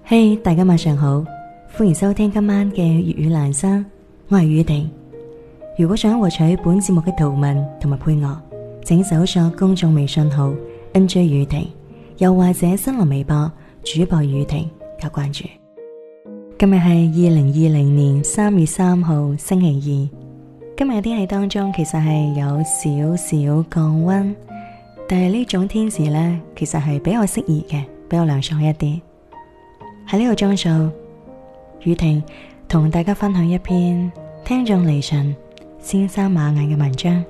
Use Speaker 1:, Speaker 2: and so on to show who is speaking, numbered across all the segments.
Speaker 1: 嘿，大家晚上好，歡迎收聽今晚嘅粵語欄山，我係宇婷。如果想獲取本節目嘅圖文同埋配樂，請搜索公眾微信號 NJ 宇婷，又或者新浪微博主播宇婷加關注。今日係2020年3月3號星期二，今日嘅天氣當中其實係有少少降溫，但係呢種天時呢，其實係比較適宜嘅，比較涼爽一啲。喺呢個鐘數，宇婷同大家分享一篇聽眾嚟信先生馬眼嘅文章。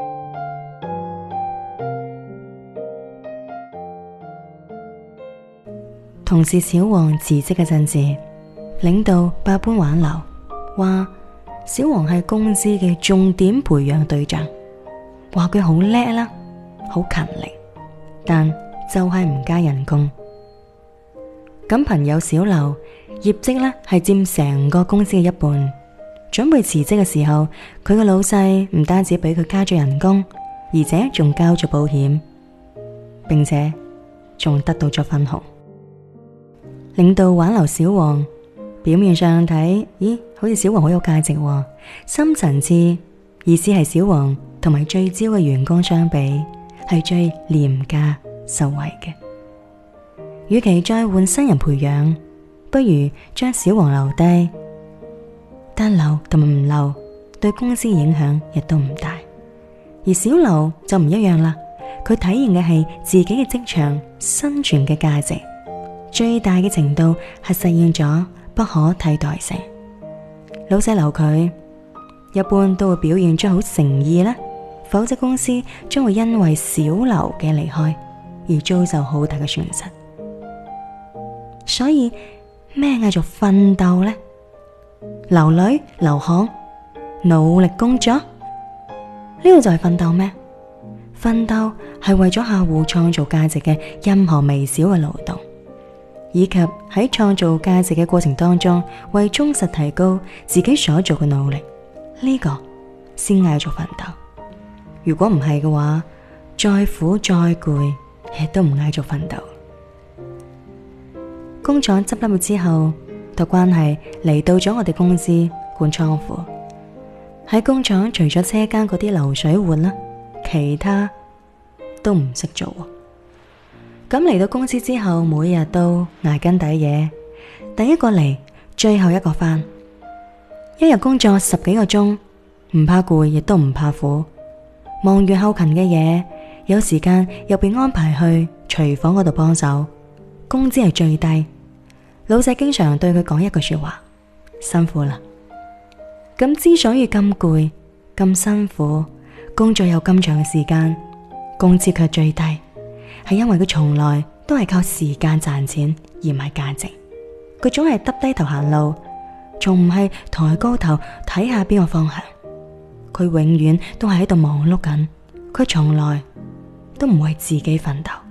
Speaker 1: 同事小王辭職嘅陣時，領導百般挽留，話小王係公司嘅重點培養對象，話佢好叻啦，好勤力，但就係唔加人工。咁朋友小劉業績呢係佔成個公司嘅一半，準備辭職嘅時候，佢嘅老細唔單止俾佢加咗人工，而且仲交咗保險，並且仲得到咗分紅。領導挽留小王，表面上睇，好似小王好有價值喎，深層次意思係小王同埋最招嘅員工相比，係最廉價受惠嘅。與其再換新人培養，不如將小王留低，但留同埋唔留對公司影響亦都唔大。而小劉就唔一樣啦，佢體現嘅係自己嘅職場生存嘅價值，最大嘅程度係實現咗不可替代性。老細留佢，一般都會表現出好誠意啦，否則公司將會因為小劉嘅離開而遭受好大嘅損失。所以咩嗌做奮鬥呢？流淚流汗努力工作，呢個就係奮鬥咩？奮鬥係為咗客戶創造價值嘅任何微小嘅勞動，以及喺創造價值嘅過程當中為忠實提高自己所做嘅努力，呢個先嗌做奮鬥。如果唔係嘅話，再苦再攰亦都唔嗌做奮鬥。工廠執笠之後，託關係嚟到咗我哋公司管倉庫。喺工廠除咗車間嗰啲流水活啦，其他都唔識做。咁嚟到公司之後，每日都捱更抵夜，第一個嚟，最後一個返，一日工作10幾個鐘，唔怕攰亦都唔怕苦。忙完後勤嘅嘢，有時間又被安排去廚房嗰度幫手，工資係最低。老細經常對佢講一句說話：辛苦啦。咁之所以咁攰咁辛苦，工作有咁長嘅時間，工資卻最低，係因為佢從來都係靠時間賺錢而唔係價值。佢總係耷低頭行路，從唔係抬高頭睇下邊個方向。佢永遠都係喺度忙碌緊，佢從來都唔為自己奮鬥。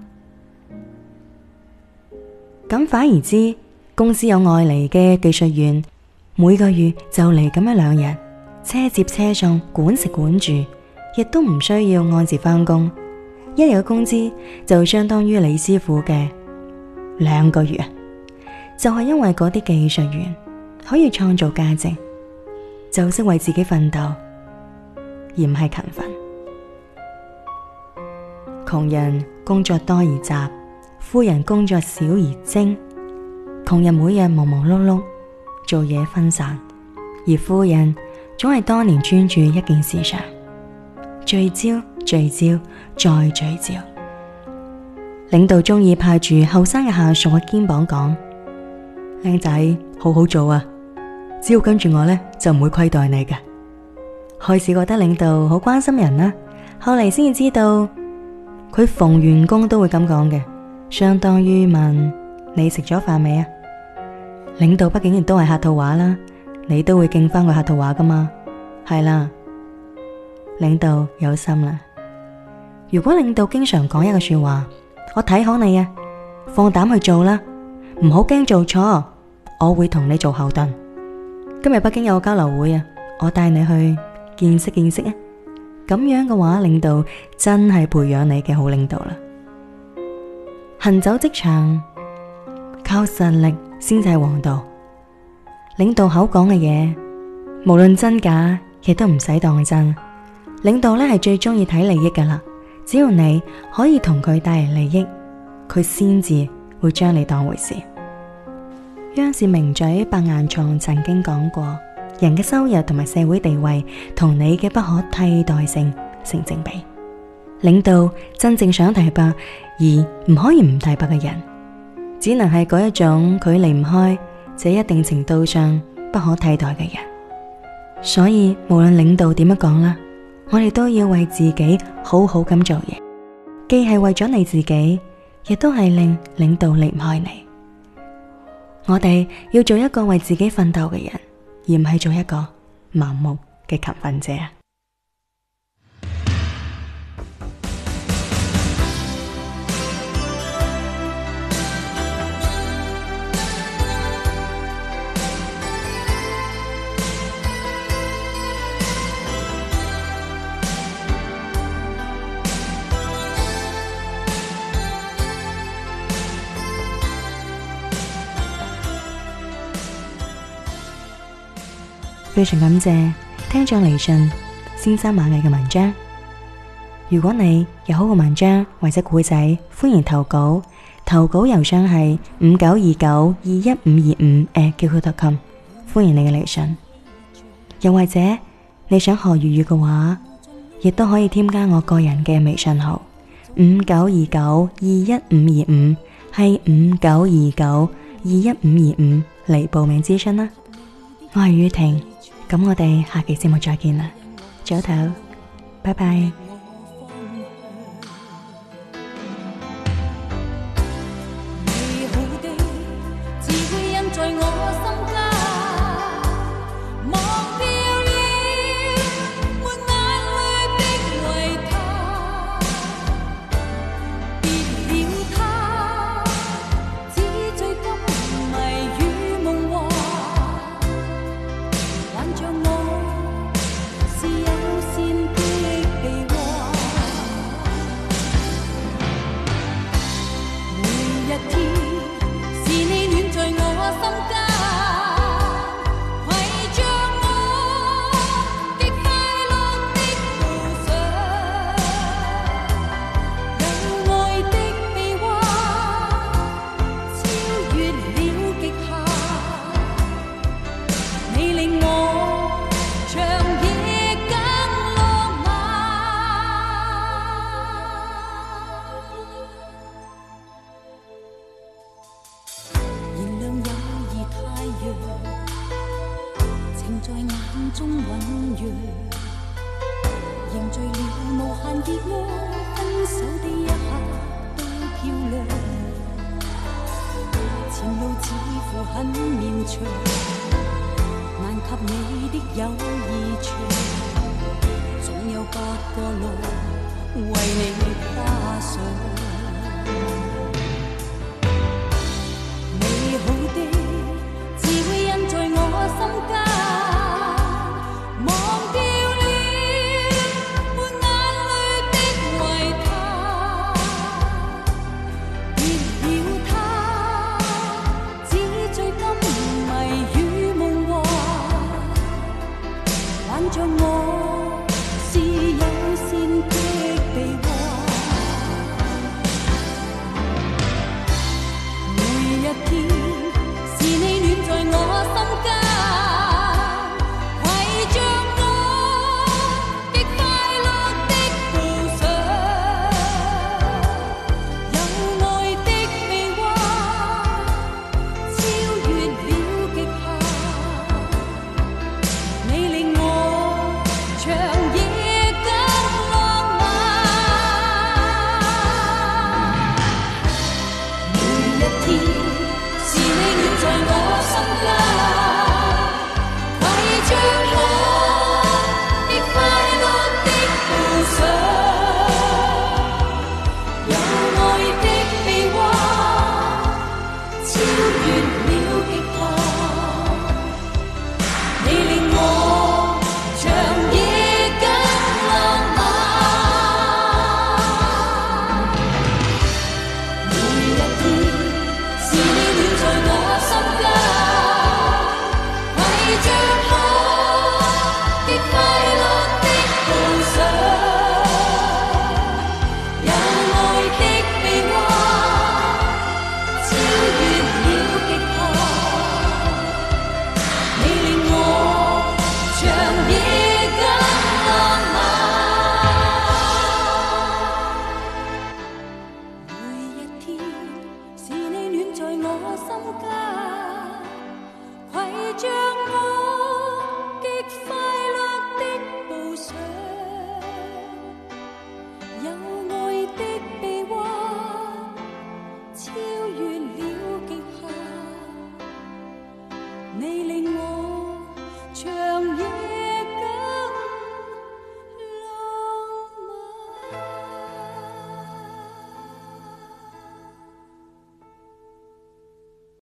Speaker 1: 咁反而知公司有外嚟嘅技術員，每個月就嚟咁1-2日，車接車送，管食管住，亦都唔需要按時返工。一日嘅工資就相當於李師傅嘅2個月。就係因為嗰啲技術員可以創造價值，就識為自己奮鬥，而唔係勤奮。窮人工作多而雜，富人工作少而精。窮人每日忙忙碌碌，做嘢分散，而富人總係多年專注一件事上，聚焦聚焦再聚焦。領導中意拍住後生嘅下屬嘅肩膀講：靚仔，好好做啊，只要跟住我呢，就唔會虧待你嘅。開始覺得領導好關心人啦，後嚟先至知道佢逢員工都會咁講嘅，相當於問你食咗飯未啊？領導畢竟亦都係客套話啦，你都會敬翻個客套話噶嘛。係啦，領導有心啦。如果領導經常講一個說話：我睇好你啊，放膽去做啦，唔好驚做錯，我會同你做後盾。今日北京有個交流會啊，我帶你去見識見識啊。咁樣嘅話，領導真係培養你嘅好領導啦。行走職場，靠實力先至係王道。領導口講嘅嘢，無論真假，亦都唔使當真。領導呢係最中意睇利益噶啦，只要你可以同佢帶嚟利益，佢先至會將你當回事。央視名嘴白岩松曾經講過，人嘅收入同埋社會地位同你嘅不可替代性成正比。領導真正想提拔而唔可以唔提拔嘅人，只能係嗰一種佢離唔開這一定程度上不可替代嘅人。所以無論領導點樣講啦，我哋都要為自己好好咁做嘢，既係為咗你自己，亦都係令領導離唔開你。我哋要做一個為自己奮鬥嘅人，而唔係做一個盲目嘅勤奮者。非常感謝聽眾嚟信先生螞蟻嘅文章。如果你有好嘅文章或者故仔，歡迎投稿。投稿郵箱係5929215525@qq.com，歡迎你嘅嚟信。又或者你想學粵語嘅話，亦都可以添加我個人嘅微信號5929215525，係5929215525嚟報名諮詢啦。我係宇婷，咁我哋下期節目再見啦，早唞，拜拜。情在眼中醞釀，凝聚了無限熱愛，分手的一刻都漂亮。前路似乎很綿長，難及你的友誼長，總有8個路為你跨上。像我是有線的臂彎，每一天是你暖在我心間，攜着我極快樂的路上，有愛的臂彎超越了極限，你令我長夜更浪漫，每一天。